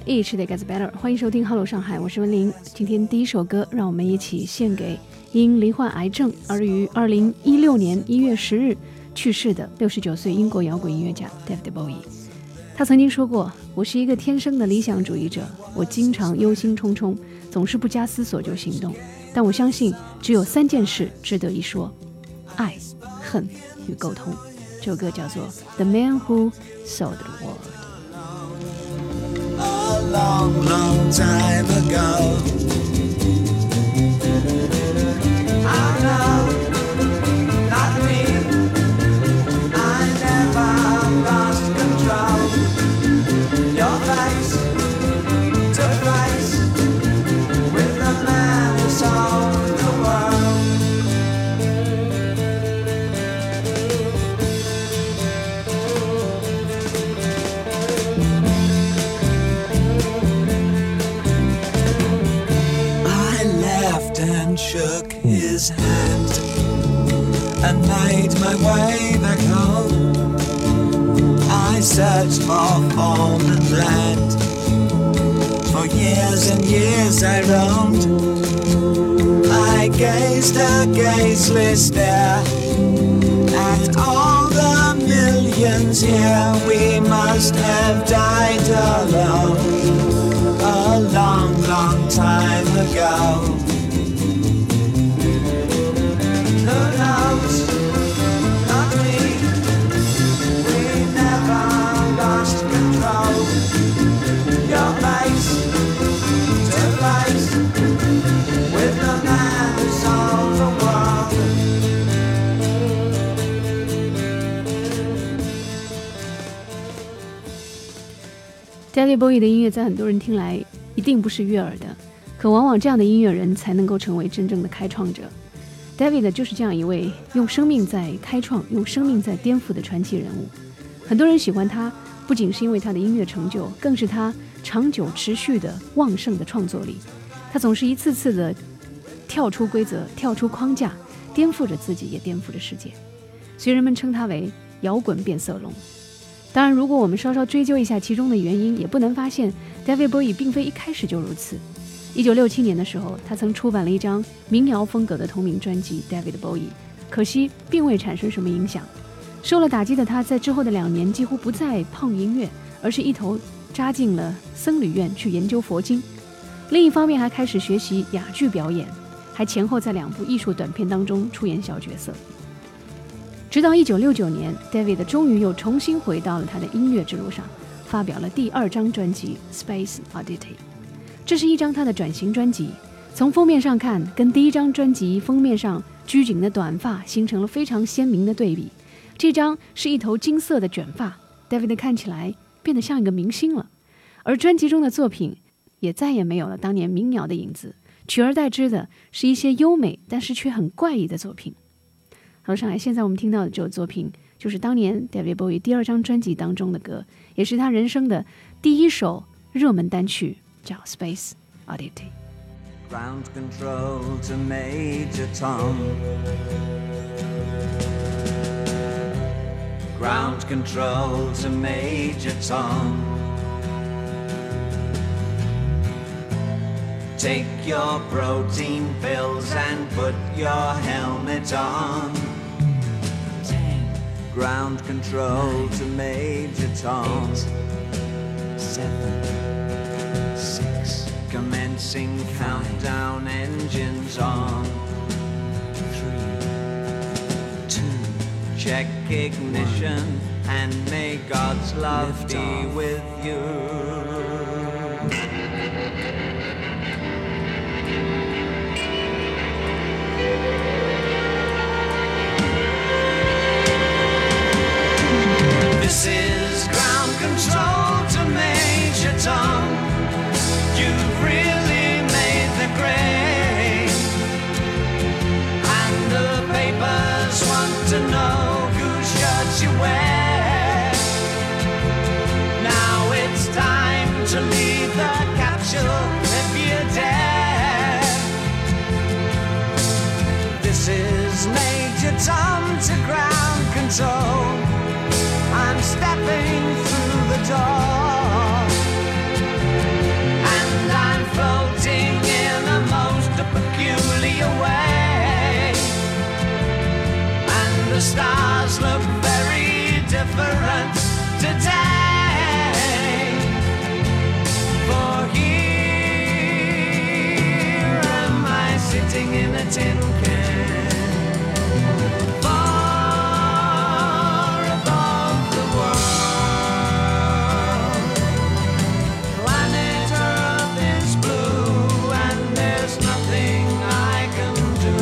Each day gets better， 欢迎收听 Hello 上海，我是文玲。今天第一首歌，让我们一起献给因罹患癌症而于2016年1月10日去世的69岁英国摇滚音乐家 David Bowie。他曾经说过，我是一个天生的理想主义者，我经常忧心忡忡，总是不加思索就行动，但我相信只有3件事值得一说：爱、恨与沟通。这首歌叫做 The Man Who Sold the World。A long, long time ago, I know, not me, I never lost control. Your face took place with the man who sold the world.And shook his hand and made my way back home. I searched for form and land. For years and years I roamed. I gazed a gazeless stare at all the millions here. We must have died alone a long, long time ago.Who knows? Not me. We never lost control. Your face to face with the man who sold the world. David Bowie 的音乐在很多人听来一定不是悦耳的，可往往这样的音乐人才能够成为真正的开创者。David 就是这样一位用生命在开创、用生命在颠覆的传奇人物。很多人喜欢他，不仅是因为他的音乐成就，更是他长久持续的旺盛的创作力。他总是一次次的跳出规则、跳出框架，颠覆着自己，也颠覆着世界。所以人们称他为摇滚变色龙。当然，如果我们稍稍追究一下其中的原因，也不难发现 David Bowie 并非一开始就如此。1967年的时候，他曾出版了一张民谣风格的同名专辑 David Bowie， 可惜并未产生什么影响。受了打击的他在之后的2年几乎不再碰音乐，而是一头扎进了僧侣院去研究佛经。另一方面还开始学习哑剧表演，还前后在2部艺术短片当中出演小角色。直到1969年 David 终于又重新回到了他的音乐之路上，发表了第2张专辑 Space Oddity。这是一张他的转型专辑，从封面上看，跟第1张专辑封面上拘谨的短发形成了非常鲜明的对比。这张是一头金色的卷发 ，David 看起来变得像一个明星了。而专辑中的作品也再也没有了当年民谣的影子，取而代之的是一些优美但是却很怪异的作品。好，上海，现在我们听到的这首作品就是当年 David Bowie 第2张专辑当中的歌，也是他人生的第1首热门单曲。叫 Space Oddity。 Ground control to Major Tom. Ground control to Major Tom. Take your protein pills and put your helmet on. 10. Ground control 9, to Major Tom. 8, 7, Commencing countdown, engines on. 3, 2, check ignition and may God's love be with you. This is ground control to Major Tom.You've really made the grade, and the papers want to know whose shirt you wear. Now it's time to leave the capsule if you dare. This is Major Tom to ground control. I'm stepping through the door. floating in a tin can. Far above the world, planet Earth is blue, and there's nothing I can do.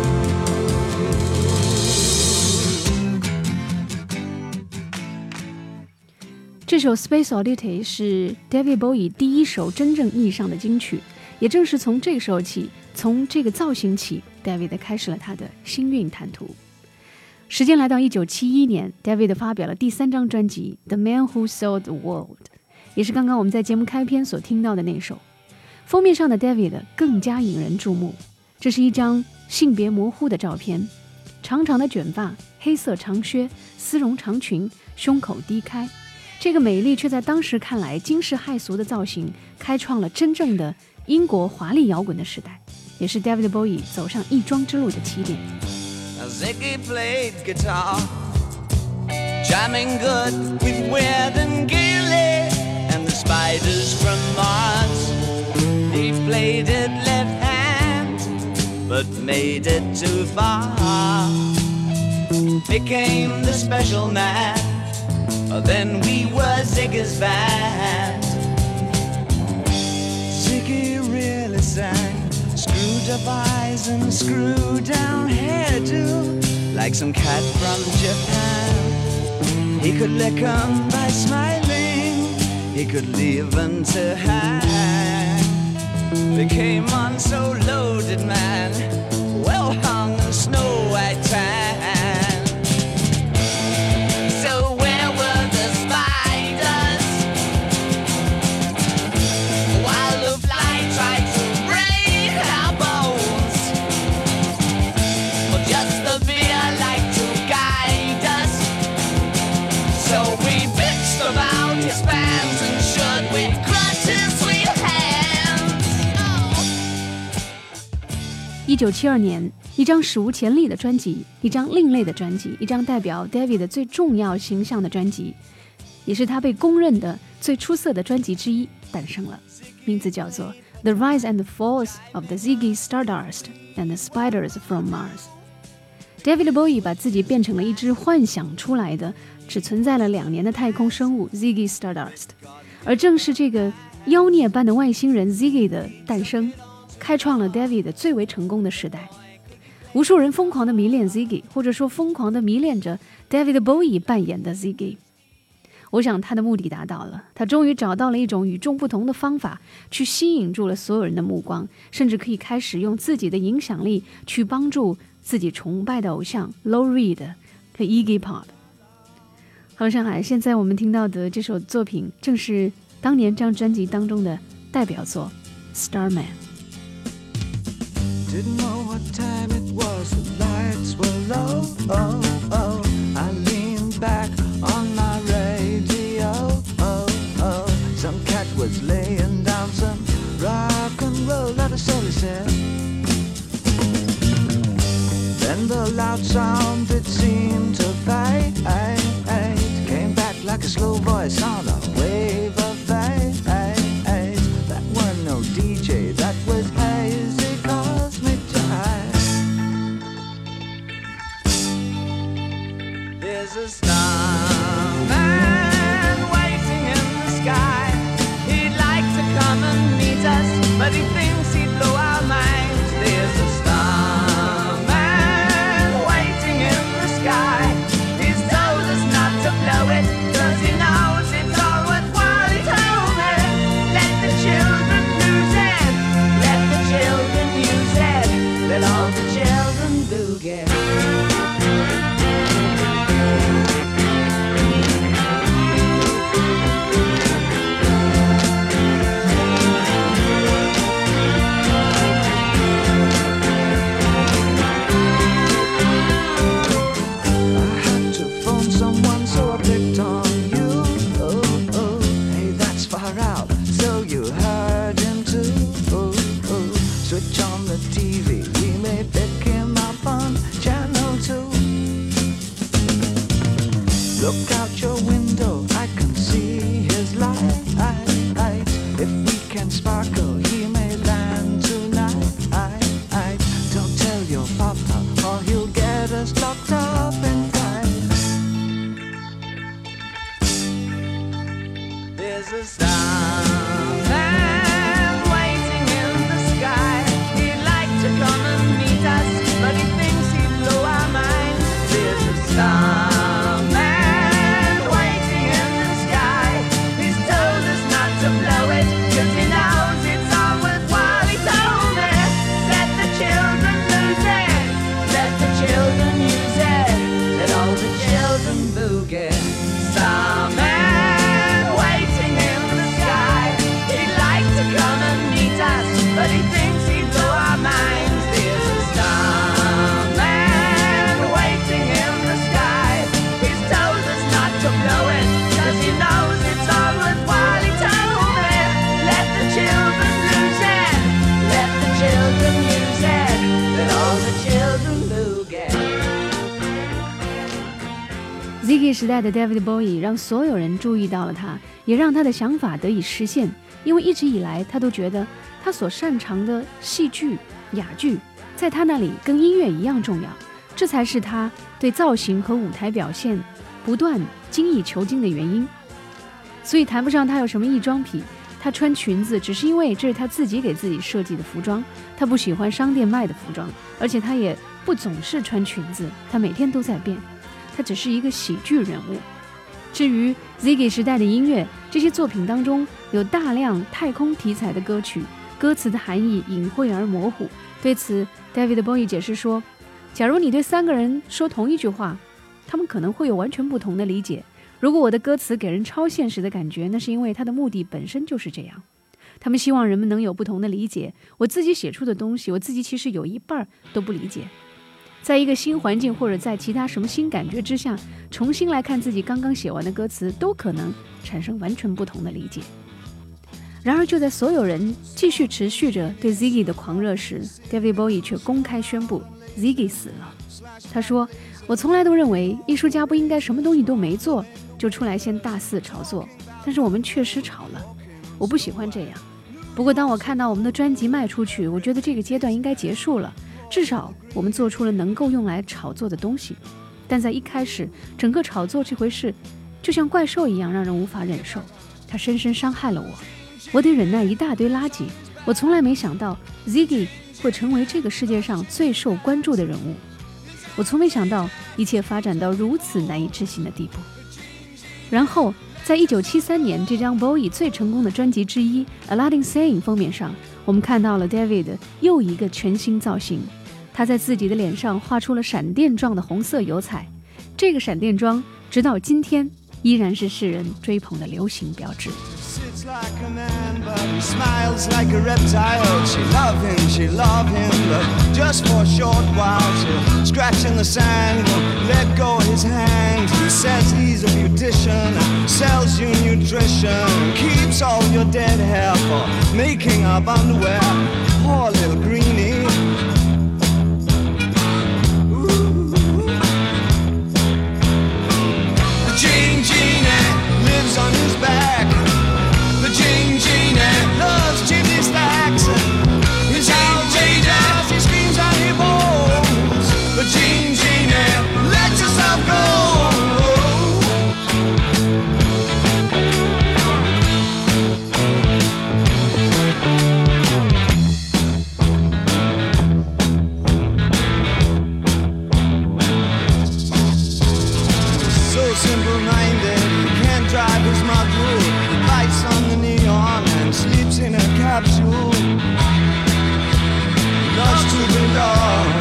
这首 Space Oddity 是 David Bowie 第一首真正意义上的金曲，也正是从这个时候起，从这个造型起 David 开始了他的星运坦途。时间来到1971年 David 发表了第3张专辑 The Man Who Sold the World， 也是刚刚我们在节目开篇所听到的那首。封面上的 David 更加引人注目，这是一张性别模糊的照片，长长的卷发，黑色长靴，丝绒长裙，胸口低开，这个美丽却在当时看来惊世骇俗的造型，开创了真正的英国华丽摇滚的时代，也是 David Bowie 走上艺庄之路的起点。 Ziggy played guitar, jamming good with Weird and Gilly and the Spiders from Mars. He played it left hand, but made it too far. Became the special man, then we were Ziggy's band. Ziggy really sang, screwed up eyes and screwed down hairdo, like some cat from Japan. He could lick 'em by smiling, he could leave 'em to hang. Became on so loaded man, well hung in snow white tan. So where were the spiders while the fly tried to break our bones? Or just the beer like to guide us? So we bitched about his fans and should we crush his sweet hands? 1972年，一张史无前例的专辑，一张另类的专辑，一张代表 David 最重要形象的专辑，也是他被公认的最出色的专辑之一诞生了，名字叫做 The Rise and Falls of the Ziggy Stardust and the Spiders from Mars。David Bowie 把自己变成了一只幻想出来的只存在了2年的太空生物 Ziggy Stardust， 而正是这个妖孽般的外星人 Ziggy 的诞生，开创了 David 最为成功的时代。无数人疯狂地迷恋 Ziggy， 或者说疯狂地迷恋着 David Bowie 扮演的 Ziggy。 我想他的目的达到了，他终于找到了一种与众不同的方法，去吸引住了所有人的目光，甚至可以开始用自己的影响力去帮助自己崇拜的偶像 Lou Reed 和 Iggy Pop。 好，上海，现在我们听到的这首作品正是当年这张专辑当中的代表作 Starman。Didn't know what time it was, the lights were low, oh, oh. I leaned back on my radio, oh, oh. Some cat was laying down some rock and roll, that is all he said. Then the loud sound, it seemed to fade, came back like a slow voice on a wave of fade. That weren't no DJ, that was hazy cosmic jive. There's a starman waiting in the sky. He'd like to come and meet us, but he thinks he'd blow our minds. There's a starman waiting in the sky. He's told us not to blow it, 'cause he knows it's all worthwhile. He told me, let the children lose it, let the children use it, let all the children boogie. Look out your window, I can see his light. If we can sparkle, he may land tonight. Ziggy 时代的 David Bowie 让所有人注意到了他，也让他的想法得以实现。因为一直以来他都觉得他所擅长的戏剧、哑剧在他那里跟音乐一样重要，这才是他对造型和舞台表现不断精益求精的原因。所以谈不上他有什么异装癖，他穿裙子只是因为这是他自己给自己设计的服装，他不喜欢商店卖的服装，而且他也不总是穿裙子，他每天都在变，他只是一个喜剧人物。至于 Ziggy 时代的音乐，这些作品当中有大量太空题材的歌曲，歌词的含义隐晦而模糊。对此 David Bowie 解释说，假如你对3个人说同一句话，他们可能会有完全不同的理解。如果我的歌词给人超现实的感觉，那是因为它的目的本身就是这样。他们希望人们能有不同的理解。我自己写出的东西，我自己其实有一半都不理解。在一个新环境或者在其他什么新感觉之下，重新来看自己刚刚写完的歌词，都可能产生完全不同的理解。然而就在所有人继续持续着对 Ziggy 的狂热时， David Bowie 却公开宣布 Ziggy 死了。他说，我从来都认为艺术家不应该什么东西都没做就出来先大肆炒作，但是我们确实炒了，我不喜欢这样。不过当我看到我们的专辑卖出去，我觉得这个阶段应该结束了，至少我们做出了能够用来炒作的东西。但在一开始，整个炒作这回事就像怪兽一样让人无法忍受，它深深伤害了我，我得忍耐一大堆垃圾。我从来没想到 Ziggy 会成为这个世界上最受关注的人物，我从没想到一切发展到如此难以置信的地步。然后在1973年这张 Bowie 最成功的专辑之一 Aladdin Sane 封面上，我们看到了 David 又一个全新造型，他在自己的脸上画出了闪电状的红色油彩，这个闪电妆直到今天依然是世人追捧的流行标志。 Sits like a man, but he smiles like a reptile. She love him, but just for a short while. She'll scratch in the sand, won't let go of his hand. He says he's a beautician, sells you nutrition, keeps all your dead hair for making up underwear. Poor little greenie. The Jane Genie lives on his back.The Jane Genie loves chimney stacks. He's outrageous, he screams and he moans. The Jane Genie, let yourself go. So simple-minded, he can't drive his mug-bites on the neon and sleeps in a capsule. Loves to belong,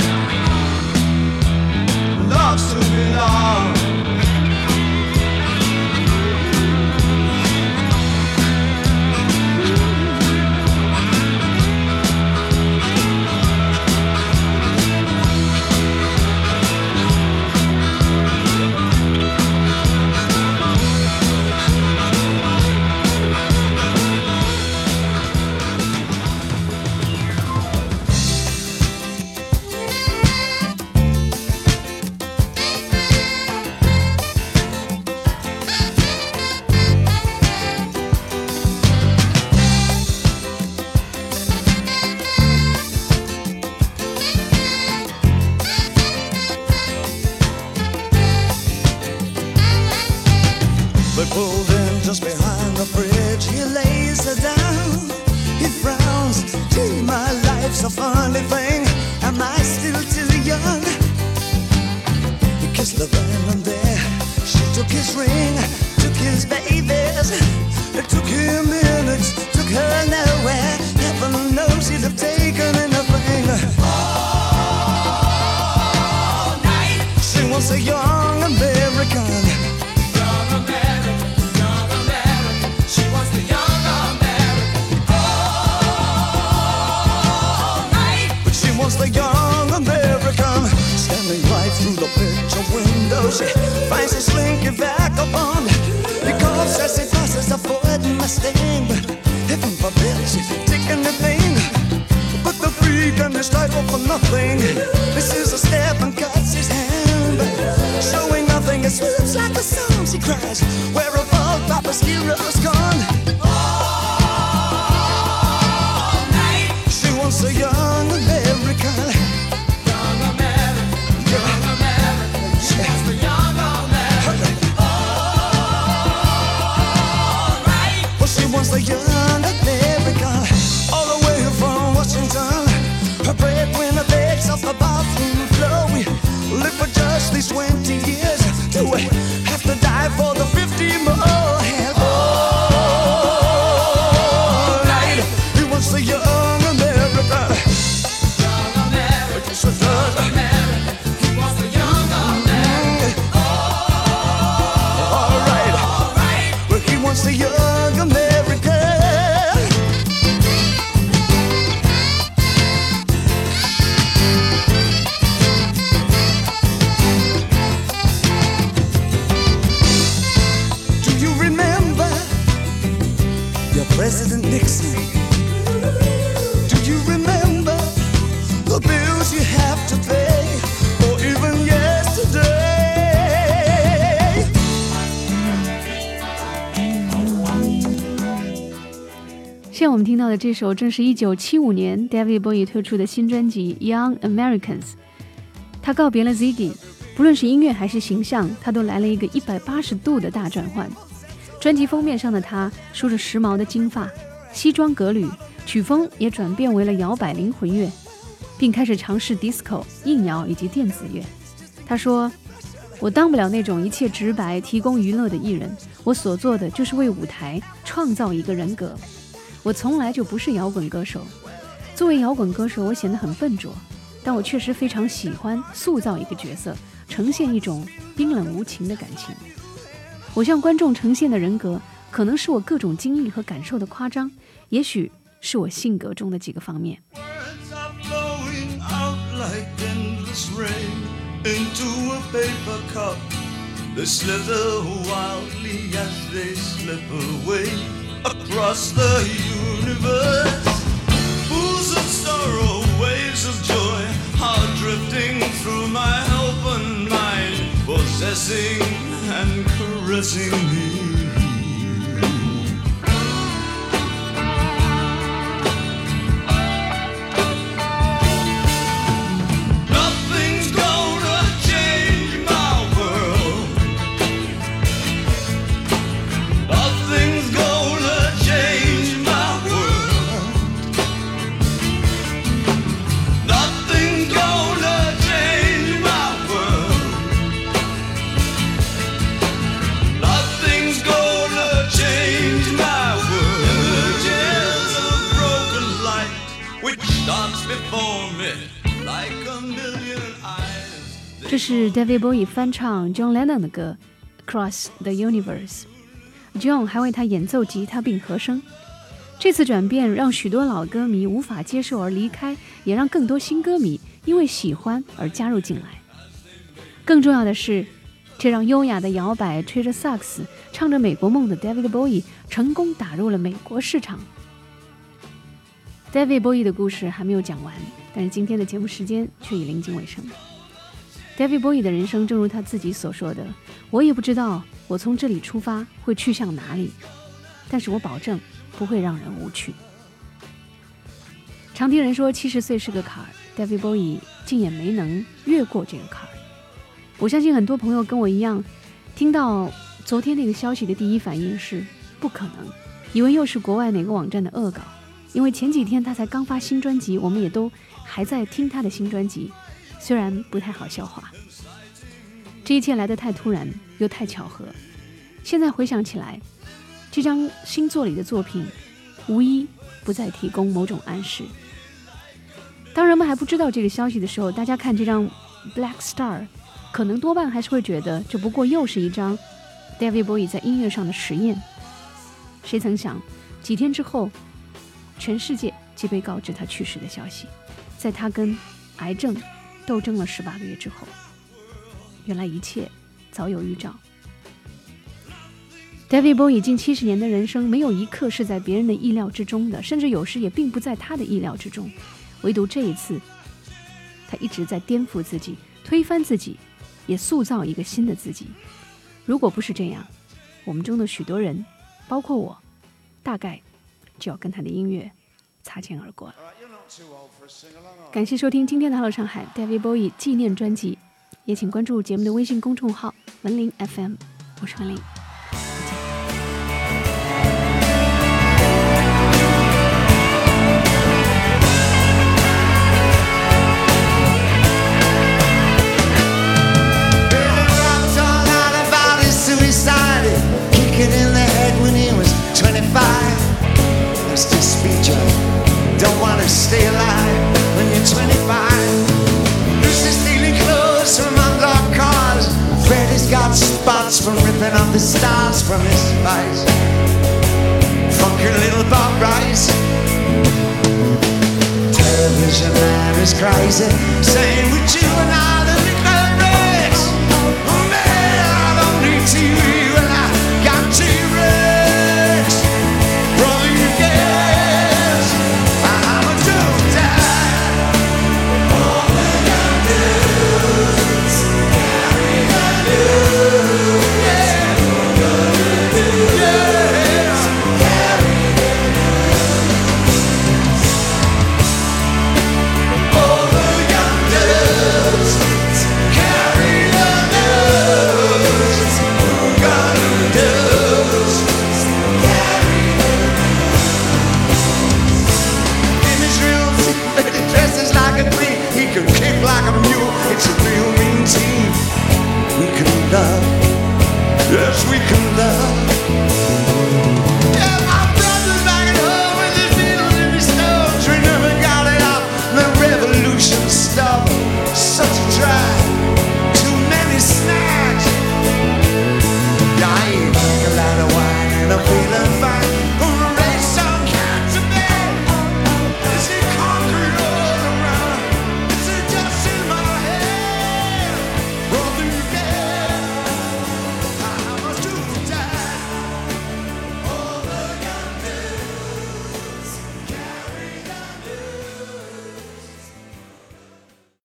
loves to belong. But pulled in just behind the bridge, he lays her down. He frowns, gee, my life's a funny thing. Am I still too young? He kissed the van and there she took his ring, took his babies. It took him minutes, took her nowhere. Heaven knows he'd have taken anything. All night. She was a young American.The young American, standing right through the picture window. She finds a slinky vagabond. He coughs as he passes a Ford Mustang. Heaven forbid she's taking anything but the freak and his title for nothing. This is a step and cuts his hand, showing nothing swoops like a song she cries, where a bug Papa's hero's gone. All night. She wants a young American. Young American. Young American. She wants the young American. All right. Well, she wants the young American. All the way from Washington. Her breadwinner begs off the bathroom floor. We live for just these 20 years. Do we have to die for the 50 more? And all night, he wants the young American. Young American. Yes, it does. American. He wants the young American. All right. All right. Well, he wants the young American. President Nixon, do you remember the bills you have to pay, or even yesterday? 现在我们听到的这首正是1975年 David Bowie 推出的新专辑 Young Americans。 他告别了 Ziggy， 不论是音乐还是形象，他都来了一个180度的大转换。专辑封面上的他梳着时髦的金发，西装革履，曲风也转变为了摇摆灵魂乐，并开始尝试 disco、硬摇以及电子乐。他说，我当不了那种一切直白提供娱乐的艺人，我所做的就是为舞台创造一个人格。我从来就不是摇滚歌手，作为摇滚歌手我显得很笨拙，但我确实非常喜欢塑造一个角色，呈现一种冰冷无情的感情。我向观众呈现的人格，可能是我各种经历和感受的夸张，也许是我性格中的几个方面。 Words are flowing out like endless rain into a paper cup. They slither wildly as they slip away across the universe. Pools of sorrow, waves of joy are drifting through my open mind, possessing and caressing me. Nothing's gonna change my world. Nothing's gonna change my world. Nothing's gonna change my world. Nothing's gonna change my world. Images of broken light which dance before me like a million eyes. 这是 David Bowie 翻唱 John Lennon 的歌 Across the Universe。John 还为他演奏吉他并和声。这次转变让许多老歌迷无法接受而离开，也让更多新歌迷因为喜欢而加入进来。更重要的是，这让优雅的摇摆、吹着萨克斯、唱着美国梦的 David Bowie 成功打入了美国市场。David Bowie 的故事还没有讲完，但是今天的节目时间却已临近尾声。David Bowie 的人生正如他自己所说的，我也不知道我从这里出发会去向哪里，但是我保证不会让人无趣。常听人说70岁是个坎儿， David Bowie 竟也没能越过这个坎儿。我相信很多朋友跟我一样，听到昨天那个消息的第一反应是不可能，以为又是国外哪个网站的恶搞，因为前几天他才刚发新专辑，我们也都还在听他的新专辑，虽然不太好消化。这一切来得太突然又太巧合，现在回想起来，这张新作里的作品无一不再提供某种暗示。当人们还不知道这个消息的时候，大家看这张 Black Star 可能多半还是会觉得这不过又是一张 David Bowie 在音乐上的实验。谁曾想几天之后，全世界即被告知他去世的消息，在他跟癌症斗争了18个月之后，原来一切早有预兆。David Bowie 近70年的人生，没有一刻是在别人的意料之中的，甚至有时也并不在他的意料之中。唯独这一次，他一直在颠覆自己，推翻自己，也塑造一个新的自己。 如果不是这样，我们中的许多人，包括我，大概就要跟他的音乐擦肩而过了。感谢收听今天的 Hello 上海 David Bowie 纪念专辑，也请关注节目的微信公众号文林 FM， 我是文林。 Kick it in the head when he was 25. That's just speech. Don't want to stay alive when you're 25. Lucy's stealing clothes from unlocked cars. Freddy's got spots from ripping off the stars from his spice. Funky little Bob Rice. Television man is crazy, saying would you and I